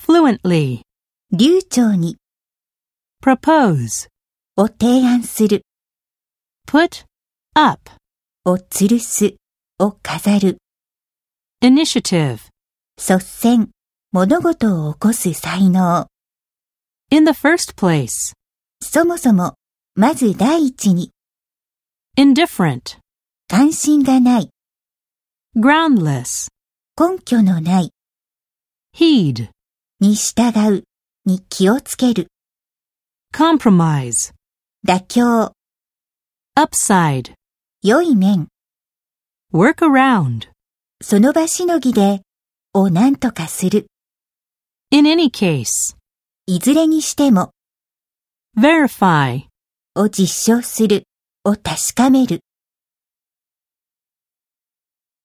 fluently, 流暢に propose, を提案する put up, を吊るすを飾る initiative. 率先物事を起こす才能 In the first place, そもそもまず第一に indifferent, 関心がない groundless, 根拠のない heed, に従うに気をつける compromise, 妥協 upside, 良い面 work around. その場しのぎでを何とかする In any case, いずれにしても verify, を実証するを確かめる